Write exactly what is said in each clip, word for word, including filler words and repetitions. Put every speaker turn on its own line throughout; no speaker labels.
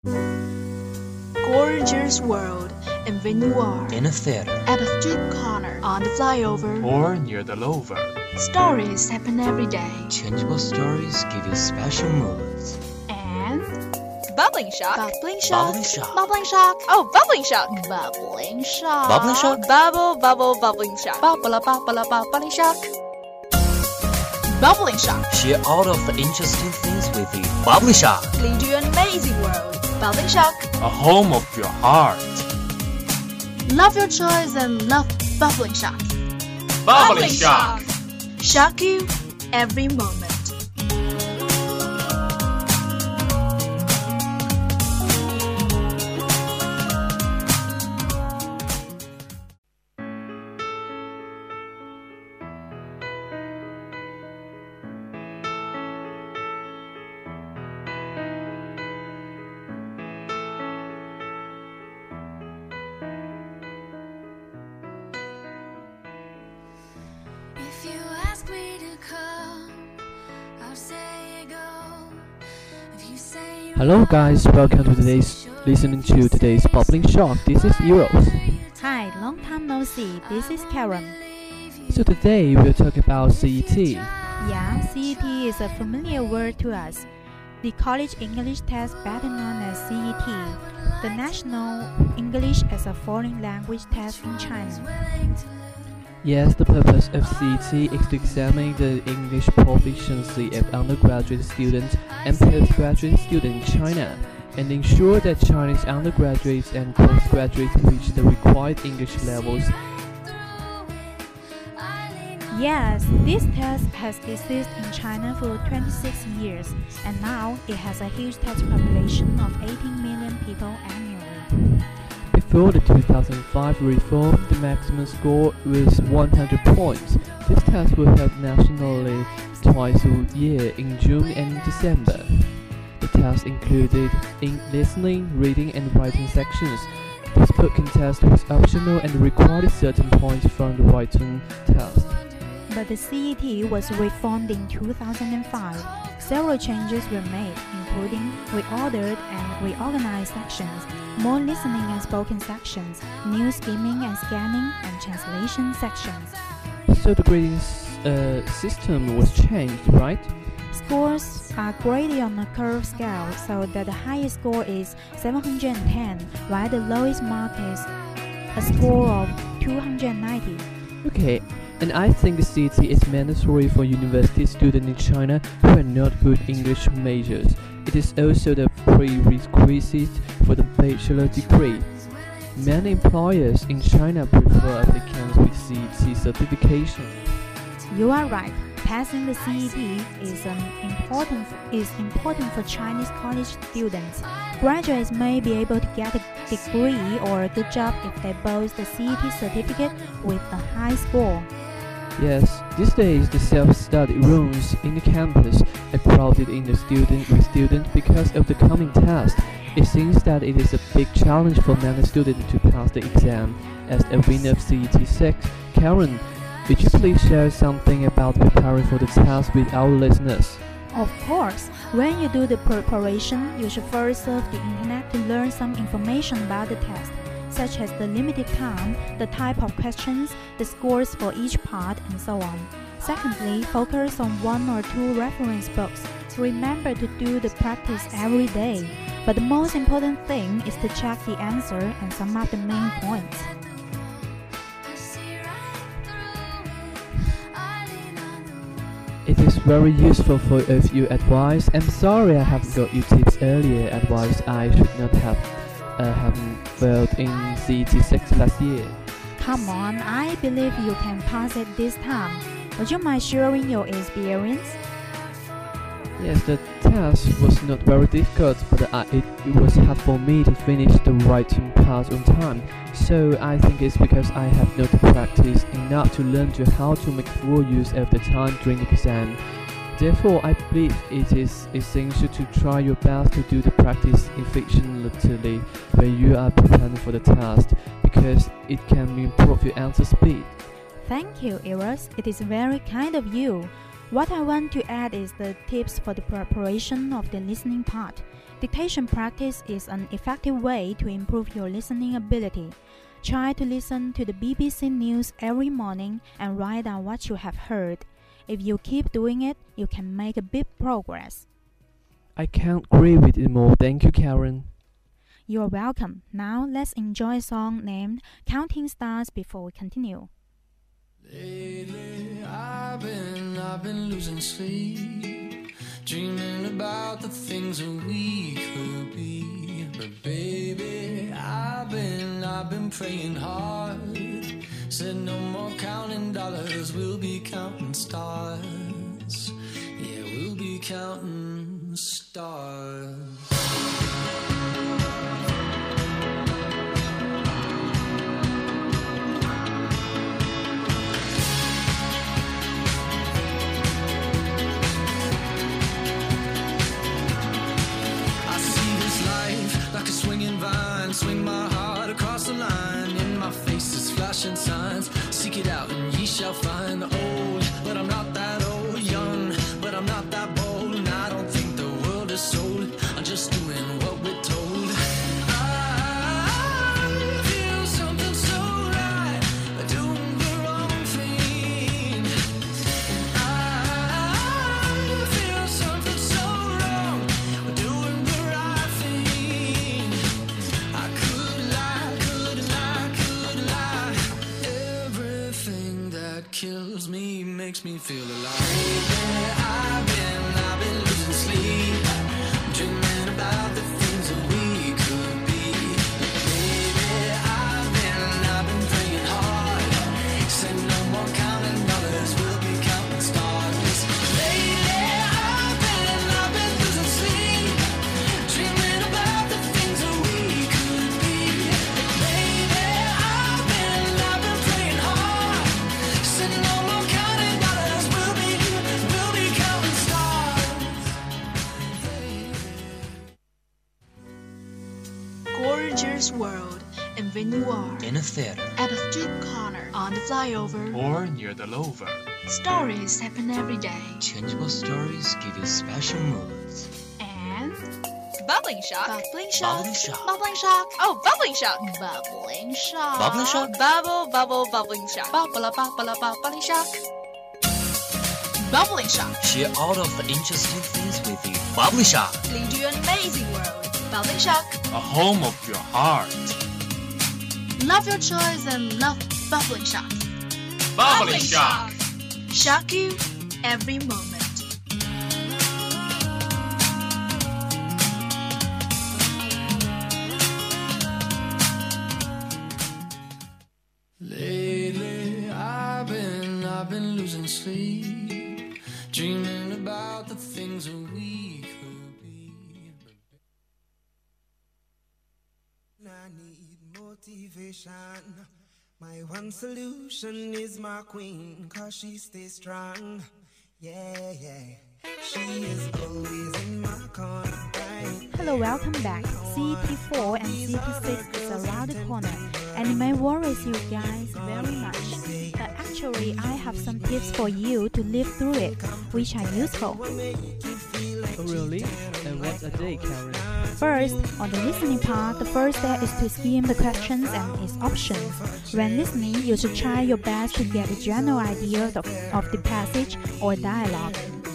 Gorgeous world, and when you are
in a theater,
at a street corner, on the flyover,
or near the lover,
stories happen every day.
Changeable stories give you special moods.
And
Bubbling shock.
bubbling shock,
Bubbling shock.
bubbling shock,
Oh, bubbling shock.
bubbling shock,
Bubbling shock.
Bubble, bubble, bubbling shock.
bubble, bubble, bubbling shock, bubbling shock.
Share all of the interesting things with you. Bubbling shock.
Lead you an amazing world. Bubbling shock.
a home of your heart.
Love your choice and love bubbling shock.
Bubbling shock.
Shock you every moment.
If you ask me to come, I'll say go. If you say you
Hello guys, welcome to today's listening to today's Bubbling Shock. This is Eros.
Hi, long time no see. This is Karen.
So today we'll talk about C E T.
Yeah, C E T is a familiar word to us. The college English test, better known as C E T, the National English as a Foreign Language Test in China.
Yes, the purpose of C E T is to examine the English proficiency of undergraduate students and postgraduate students in China, and ensure that Chinese undergraduates and postgraduates reach the required English levels.
Yes, this test has existed in China for twenty-six years, and now it has a huge test population of eighteen million people annually.
Before the two thousand five reform, the maximum score was one hundred points. This test will held nationally twice a year in June and December. The test included in listening, reading, and writing sections. The spoken test was optional and required certain points from the written test.
But the C E T was reformed in two thousand five. Several changes were made, including reordered and reorganized sections, more listening and spoken sections, new skimming and scanning, and translation sections.
So the grading uh, system was changed, right?
Scores are graded on a curve scale, so that the highest score is seven hundred ten, while the lowest mark is a score of two hundred ninety.
Okay, and I think the C E T is mandatory for university students in China who are not good English majors. It is also the prerequisite for the bachelor degree. Many employers in China prefer applicants with C E T certification.
You are right. Passing the C E T is um, important is important for Chinese college students. Graduates may be able to get a degree or a good job if they boast the C E T certificate with a high score.
Yes, these days the self-study rooms in the campus are crowded in the student with students because of the coming test. It seems that it is a big challenge for many students to pass the exam. As a winner of C E T six, Karen, would you please share something about preparing for the test with our listeners?
Of course, when you do the preparation, you should first surf the internet to learn some information about the test, such as the limited time, the type of questions, the scores for each part, and so on. Secondly, focus on one or two reference books. Remember to do the practice every day. But the most important thing is to check the answer and sum up the main points.
It is very useful for if you advice. I'm sorry I haven't got you tips earlier. Advice I should not have uh, haven't failed in C E T six last year.
Come on, I believe you can pass it this time. Would you mind sharing your experience?
Yes, the test was not very difficult, but I, it, it was hard for me to finish the writing part on time. So I think it's because I have not practiced enough to learn to how to make full use of the time during the exam. Therefore, I believe it is essential to try your best to do the practice efficiently when you are preparing for the test, because it can improve your answer speed.
Thank you, Eros. It is very kind of you. What I want to add is the tips for the preparation of the listening part. Dictation practice is an effective way to improve your listening ability. Try to listen to the B B C News every morning and write down what you have heard. If you keep doing it, you can make a big progress.
I can't agree with it more. Thank you, Karen.
You're welcome. Now let's enjoy a song named Counting Stars before we continue.
Lately, I've been, I've been losing sleep, dreaming about the things that we could be. But baby, I've been, I've been praying hard. Said no more counting dollars, we'll be counting stars. Yeah, we'll be counting stars. Swing my heart across the line. In my face is flashing signs. Seek it out and ye shall find. Old, but I'm not that old. Young, but I'm not that bold. And I don't think the world is sold. I'm just doing what we're told. I feel something so right, doing the wrong thing. I feel something so wrong, doing the right thing. I could lie, could lie, could lie. Everything that kills me makes me feel alive. Baby, I've been, I've been losing sleep, dreaming about the things that we could be. Baby, I've been, I've been praying hard. Said no more counting dollars, we'll be counting stars. Lately, I've been, I've been losing sleep, dreaming about the things that we could be. Baby, I've been, I've been praying hard. Said no more counting dollars, we'll be, we'll be counting stars.
Gorgeous world, and when you are
In a theater.
at a street corner, on the flyover,
Or near the lover.
stories happen every day.
Changeable stories give you special moods.
And
Bubbling shock.
bubbling shock,
Bubbling shock.
bubbling shock,
Oh, bubbling shock.
bubbling shock,
Bubbling shock?
Bubble, bubble, bubbling shock.
bubble, bubble, bubbling shock, bubbling shock.
Share all of the interesting things with you. Bubbling shock.
Lead you an amazing world. Bubbling shock.
A home of your heart.
Love your choice and love bubbling shock.
Bubbling shock.
Shock you every moment.
Lately, I've been, I've been losing sleep, dreaming about the things that we could be.
I need motivation. My one solution is my queen, cause she stays strong. Yeah, yeah. She is always in my corner. Right?
Hello, welcome back. C T four and C T six is around the corner, and it may worry you guys very much. But actually, I have some tips for you to live through it, which are useful.
Oh, really? And what are they, Karen?
First, on the listening part, the first step is to skim the questions and its options. When listening, you should try your best to get a general idea of, of the passage or dialogue.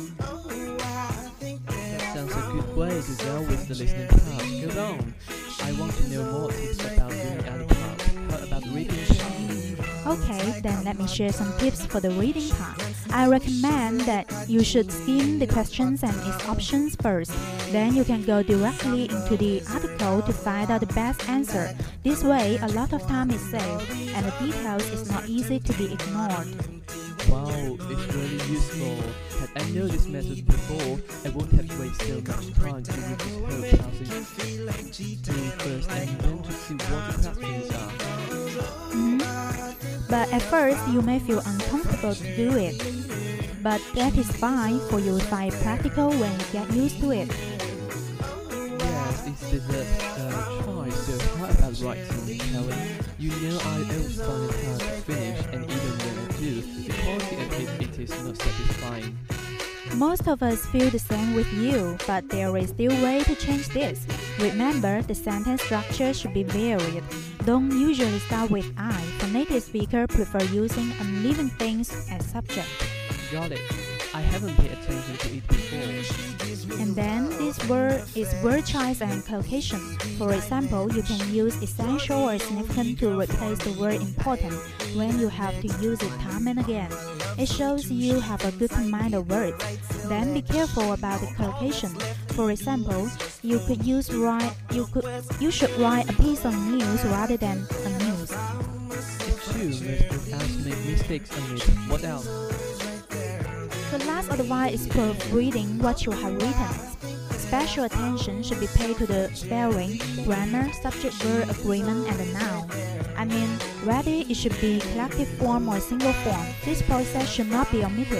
That sounds a good way to go with the listening part. Go on. I want to know more tips about doing the other part. How about reading part?
Okay, then let me share some tips for the reading part. I recommend that you should skim the questions and its options first. Then you can go directly into the article to find out the best answer. This way, a lot of time is saved, and the details is not easy to be ignored.
Wow, it's really useful. Had I known this method before, I wouldn't have wasted so much time to read this whole passage to first and then to see what the questions are.
Mhm. But at first, you may feel uncomfortable to do it. But that is fine, for you will find it practical when you get used to it.
Yes, it's the best uh, try, so how about writing, Karen? You know I always find it hard to finish, and even when I do, the quality of it, it is not satisfying.
Most of us feel the same with you, but there is still a way to change this. Remember, the sentence structure should be varied. Don't usually start with I, for native speakers prefer using unliving things as subject.
Got it. I haven't paid attention to it before.
And then this word is word choice and collocation. For example, you can use essential or significant to replace the word important when you have to use it time and again. It shows you have a good command of words. Then be careful about the collocation. For example, you could use write you could you should write a piece of news rather than a news.
If you must ask make mistakes on it, what else?
The last advice is proofreading what you have written. Special attention should be paid to the spelling, grammar, subject-verb agreement, and the noun. I mean, whether it should be collective form or single form, this process should not be omitted.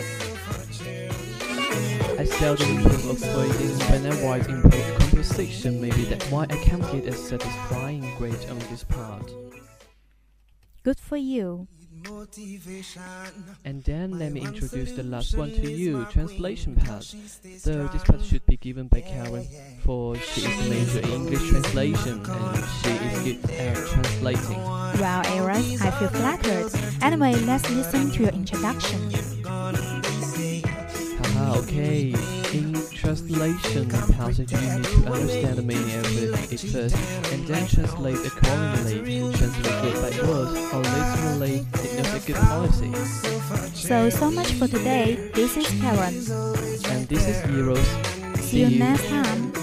I seldom improve avoiding when I write improve composition. Maybe that's why I can't get a satisfying grade on this part.
Good for you.
And then let me introduce the last one to you, translation part. Though this part should be given by Karen, for she is the major in English translation and she is good at translating.
Well, Eras, I feel flattered. Anyway, let's listen to your introduction.
Haha, okay. In translation passage, you need to understand the meaning of it at first, and then translate accordingly. Translate word by word, or literally, it knows a good policy.
So, so much for today. This is Karen.
And this is Heroes.
See you next time.